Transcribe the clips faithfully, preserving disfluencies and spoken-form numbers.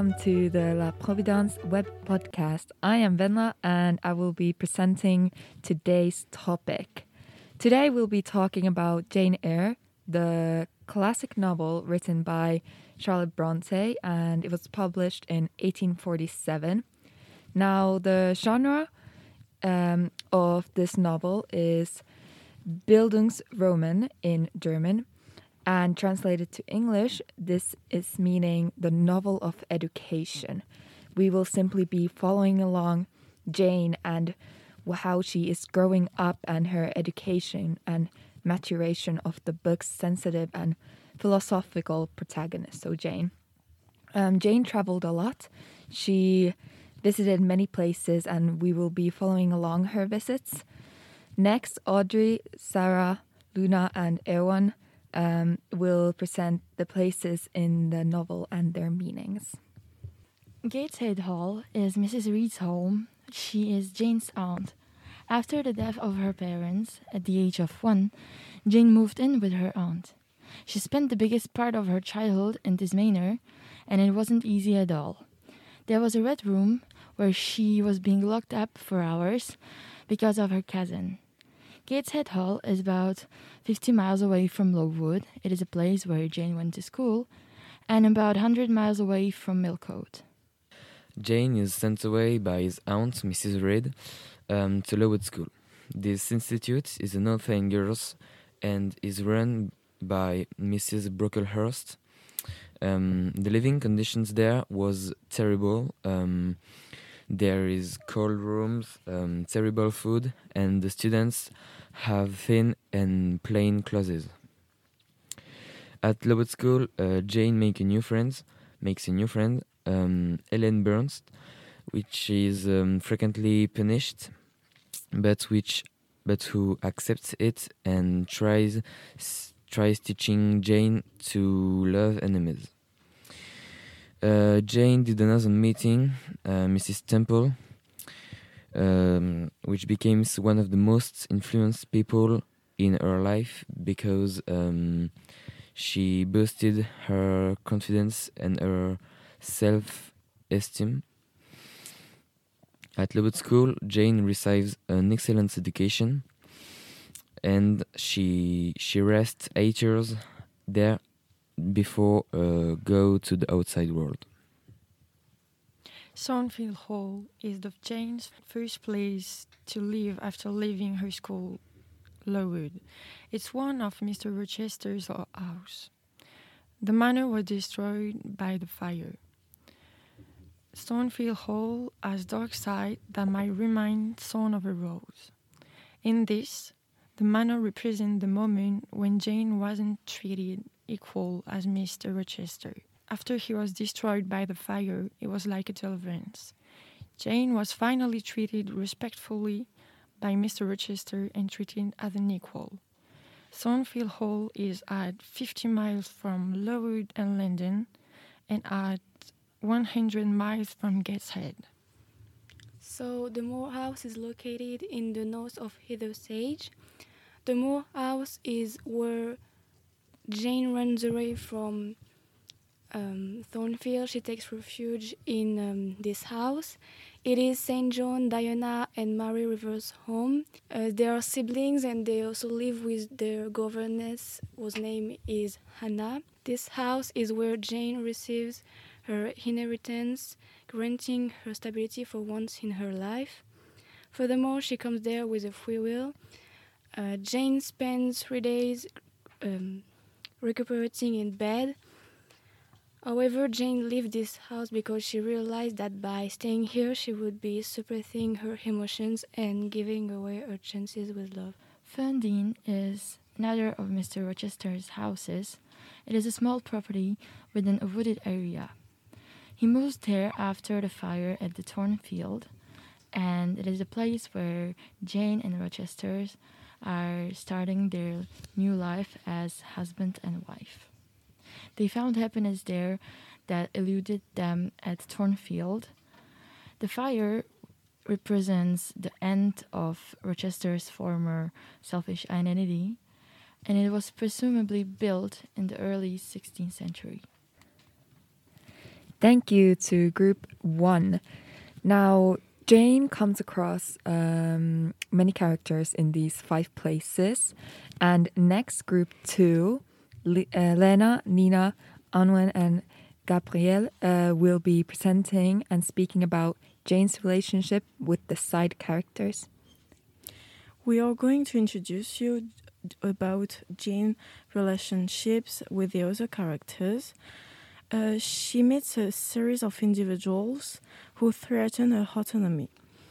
welcome to the La Providence web podcast. I am Venla and I will be presenting today's topic. Today we'll be talking about Jane Eyre, the classic novel written by Charlotte Bronte, and it was published in eighteen forty-seven. Now, the genre um, of this novel is Bildungsroman in German. And translated to English, this is meaning the novel of education. We will simply be following along Jane and how she is growing up and her education and maturation of the book's sensitive and philosophical protagonist, so Jane. Um, Jane traveled a lot. She visited many places and we will be following along her visits. Next, Audrey, Sarah, Luna and Erwan Um, will present the places in the novel and their meanings. Gateshead Hall is Missus Reed's home. She is Jane's aunt. After the death of her parents, at the age of one, Jane moved in with her aunt. She spent the biggest part of her childhood in this manor, and it wasn't easy at all. There was a red room where she was being locked up for hours because of her cousin. Gateshead Hall is about fifty miles away from Lowood. It is a place where Jane went to school, and about one hundred miles away from Millcote. Jane is sent away by his aunt, Missus Reed, um, to Lowood School. This institute is an all-thing girls and is run by Missus Brocklehurst. Um, the living conditions there was terrible. Um, there is cold rooms, um, terrible food, and the students have thin and plain clothes. At Lowood School, uh, Jane make a new friend, makes a new friend, um, Ellen Burns, which is um, frequently punished, but which, but who accepts it and tries s- tries teaching Jane to love enemies. Uh, Jane did another meeting, uh, Missus Temple, um, which became one of the most influenced people in her life because um, she boosted her confidence and her self-esteem. At Lowood School, Jane receives an excellent education, and she she rests eight years there before uh, go to the outside world. Thornfield Hall is the Jane's first place to live after leaving her school, Lowood. It's one of Mister Rochester's house. The manor was destroyed by the fire. Thornfield Hall has dark side that might remind Thorn of a Rose. In this, the manor represents the moment when Jane wasn't treated equal as Mister Rochester. After he was destroyed by the fire, it was like a deliverance. Jane was finally treated respectfully by Mister Rochester and treated as an equal. Thornfield Hall is at fifty miles from Lowood and London and at one hundred miles from Gateshead. So the Moor House is located in the north of Heather Sage. The Moor House is where Jane runs away from um, Thornfield. She takes refuge in um, this house. It is Saint John, Diana, and Mary Rivers' home. Uh, they are siblings and they also live with their governess, whose name is Hannah. This house is where Jane receives her inheritance, granting her stability for once in her life. Furthermore, she comes there with a free will. Uh, Jane spends three days um, recuperating in bed. However, Jane left this house because she realized that by staying here, she would be suppressing her emotions and giving away her chances with love. Ferndean is another of Mister Rochester's houses. It is a small property within a wooded area. He moves there after the fire at the Thornfield, and it is a place where Jane and Rochesters are starting their new life as husband and wife. They found happiness there that eluded them at Thornfield. The fire represents the end of Rochester's former selfish identity, and it was presumably built in the early sixteenth century. Thank you to group one. Now, Jane comes across um, many characters in these five places. And next, group two, Le- uh, Lena, Nina, Anwen, and Gabrielle uh, will be presenting and speaking about Jane's relationship with the side characters. We are going to introduce you about Jane's relationships with the other characters. Uh, she meets a series of individuals who threaten her autonomy.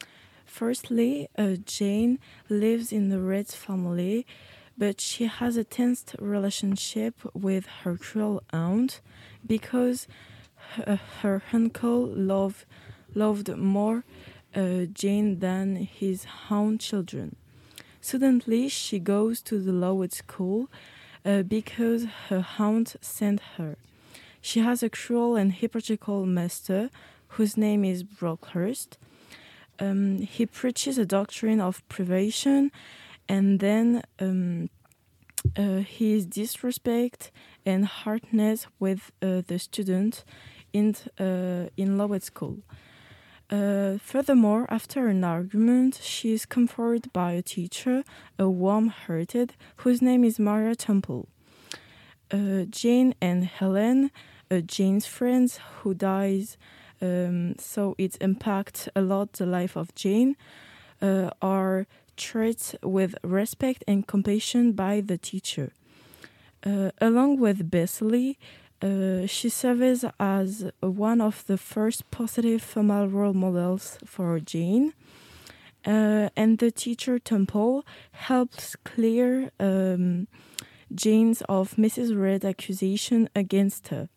Firstly, uh, Jane lives in the Red family, but she has a tense relationship with her cruel aunt because her, her uncle love, loved more uh, Jane than his own children. Suddenly, she goes to the Lowood school uh, because her aunt sent her. She has a cruel and hypocritical master whose name is Brockhurst. Um, he preaches a doctrine of privation, and then um, uh, his disrespect and hardness with uh, the student in uh, in Lowood school. Uh, furthermore, after an argument, she is comforted by a teacher, a warm-hearted, whose name is Maria Temple. Uh, Jane and Helen, uh, Jane's friends, who dies, um, so it impacts a lot the life of Jane, uh, are treated with respect and compassion by the teacher. Uh, along with Bessely, Uh, she serves as one of the first positive female role models for Jane. Uh, and the teacher Temple helps clear um, Jane's of Missus Reed's accusation against her.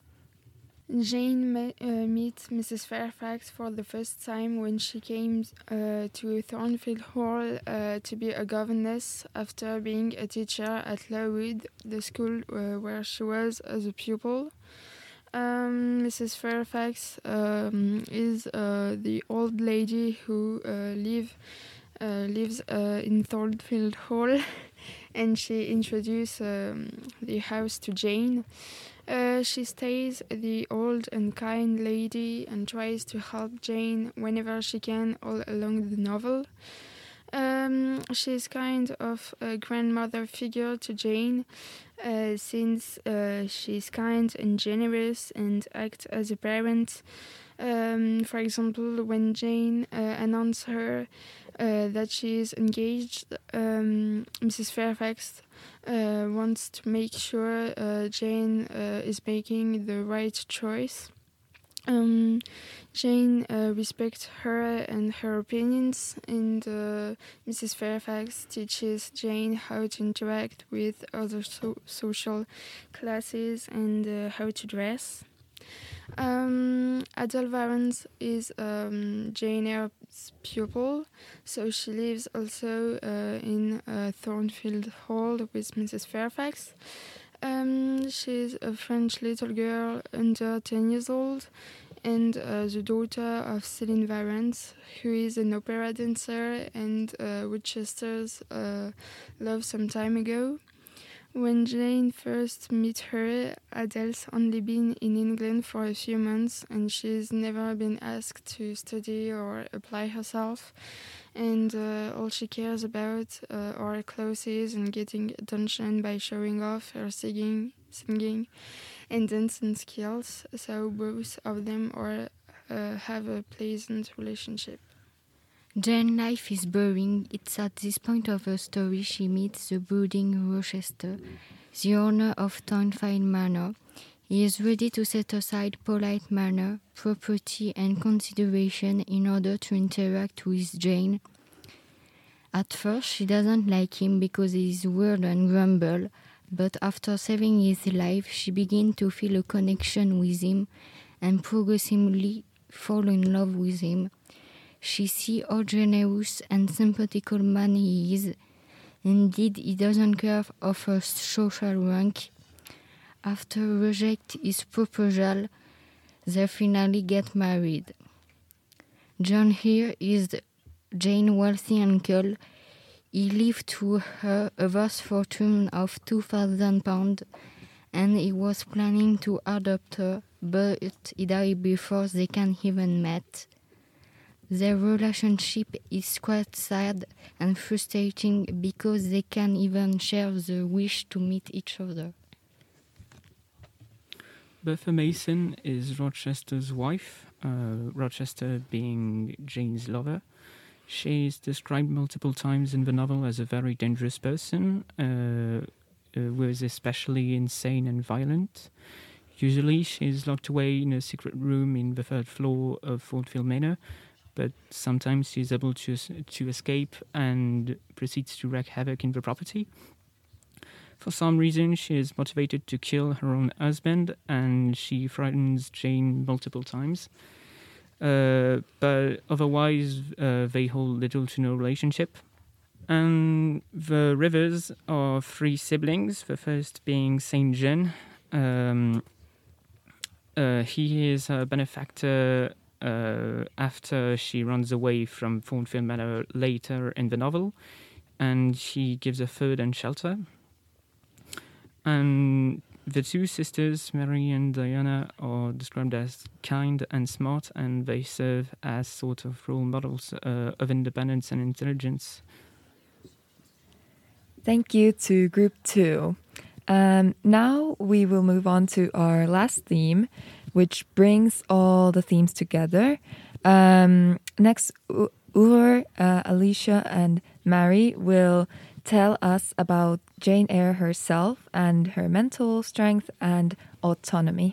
Jane me- uh, meets Missus Fairfax for the first time when she came uh, to Thornfield Hall uh, to be a governess after being a teacher at Lowood, the school uh, where she was as a pupil. Um, Missus Fairfax um, is uh, the old lady who uh, live, uh, lives uh, in Thornfield Hall, and she introduces um, the house to Jane. Uh, she stays the old and kind lady and tries to help Jane whenever she can all along the novel. Um, she's kind of a grandmother figure to Jane, uh, since uh, she's kind and generous and acts as a parent. Um, for example, when Jane uh, announced her uh, that she is engaged, um, Missus Fairfax uh, wants to make sure uh, Jane uh, is making the right choice. Um, Jane uh, respects her and her opinions, and uh, Missus Fairfax teaches Jane how to interact with other so- social classes and uh, how to dress. Um, Adele Varens is um, Jane Eyre's pupil, so she lives also uh, in uh, Thornfield Hall with Missus Fairfax. Um, she's a French little girl under ten years old and uh, the daughter of Céline Varens, who is an opera dancer and uh, Rochester's uh, love some time ago. When Jane first met her, Adele's only been in England for a few months and she's never been asked to study or apply herself. And uh, all she cares about uh, are clothes and getting attention by showing off her singing, singing and dancing skills. So both of them are uh, have a pleasant relationship. Jane's life is boring. It's at this point of her story she meets the brooding Rochester, the owner of Thornfield Manor. He is ready to set aside polite manner, property and consideration in order to interact with Jane. At first she doesn't like him because he is weird and grumble, but after saving his life she begins to feel a connection with him and progressively fall in love with him. She sees how generous and sympathetical man he is. Indeed, he doesn't care of her social rank. After reject his proposal, they finally get married. John here is Jane's wealthy uncle. He left to her a vast fortune of two thousand pounds, and he was planning to adopt her but he died before they can even meet. Their relationship is quite sad and frustrating because they can't even share the wish to meet each other. Bertha Mason is Rochester's wife, uh, Rochester being Jane's lover. She is described multiple times in the novel as a very dangerous person, uh, uh, who is especially insane and violent. Usually she is locked away in a secret room in the third floor of Thornfield Manor, but sometimes she is able to, to escape and proceeds to wreak havoc in the property. For some reason, she is motivated to kill her own husband, and she frightens Jane multiple times. Uh, but otherwise, uh, they hold little to no relationship. And the Rivers are three siblings, the first being Saint John. Um, uh, he is a benefactor uh, after she runs away from Thornfield Manor later in the novel, and he gives her food and shelter. And the two sisters, Mary and Diana, are described as kind and smart, and they serve as sort of role models uh, of independence and intelligence. Thank you to Group two. Um, now we will move on to our last theme, which brings all the themes together. Um, next, U- Ur, uh, Alicia, and Mary will tell us about Jane Eyre herself and her mental strength and autonomy.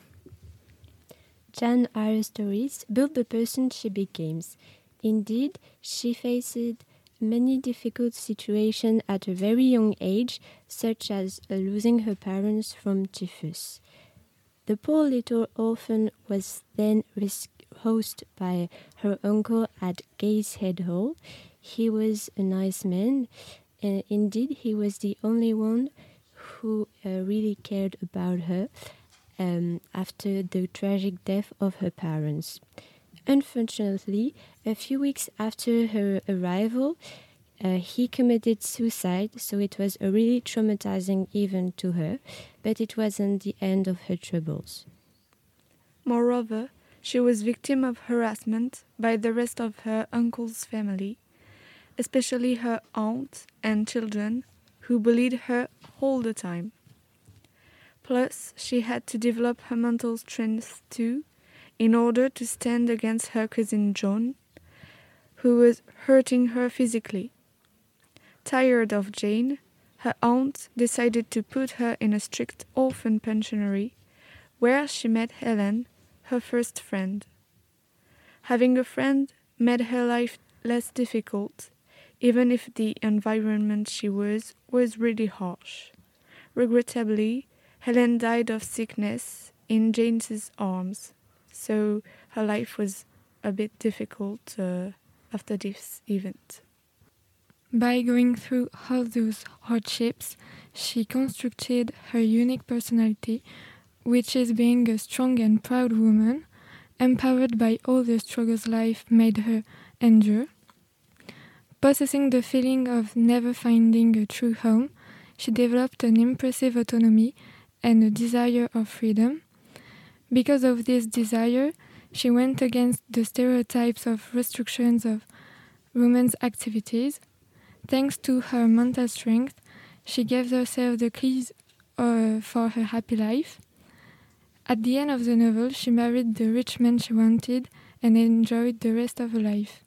Jane Eyre's stories build the person she becomes. Indeed, she faced many difficult situations at a very young age, such as uh, losing her parents from typhus. The poor little orphan was then housed by her uncle at Gateshead Hall. He was a nice man. Uh, indeed, he was the only one who uh, really cared about her um, after the tragic death of her parents. Unfortunately, a few weeks after her arrival, uh, he committed suicide, so it was a really traumatizing event to her, but it wasn't the end of her troubles. Moreover, she was victim of harassment by the rest of her uncle's family, especially her aunt and children, who bullied her all the time. Plus, she had to develop her mental strength too, in order to stand against her cousin John, who was hurting her physically. Tired of Jane, her aunt decided to put her in a strict orphan pensionary, where she met Helen, her first friend. Having a friend made her life less difficult, even if the environment she was was really harsh. Regrettably, Helen died of sickness in Jane's arms, so her life was a bit difficult uh, after this event. By going through all those hardships, she constructed her unique personality, which is being a strong and proud woman, empowered by all the struggles life made her endure. Possessing the feeling of never finding a true home, she developed an impressive autonomy and a desire of freedom. Because of this desire, she went against the stereotypes of restrictions of women's activities. Thanks to her mental strength, she gave herself the keys uh, for her happy life. At the end of the novel, she married the rich man she wanted and enjoyed the rest of her life.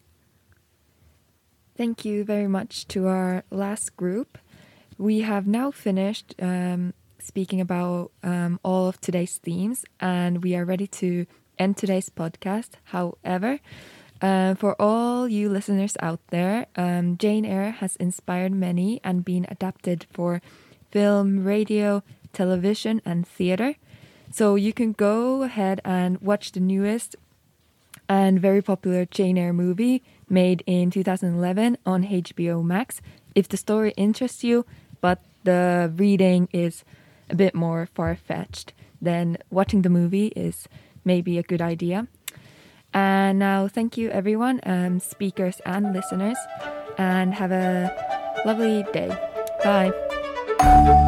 Thank you very much to our last group. We have now finished um, speaking about um, all of today's themes, and we are ready to end today's podcast. However, uh, for all you listeners out there, um, Jane Eyre has inspired many and been adapted for film, radio, television, and theatre. So you can go ahead and watch the newest and very popular Jane Eyre movie made in two thousand eleven on H B O Max if the story interests you, but the reading is a bit more far-fetched, then watching the movie is maybe a good idea. And now thank you everyone, um, speakers and listeners, and have a lovely day. Bye.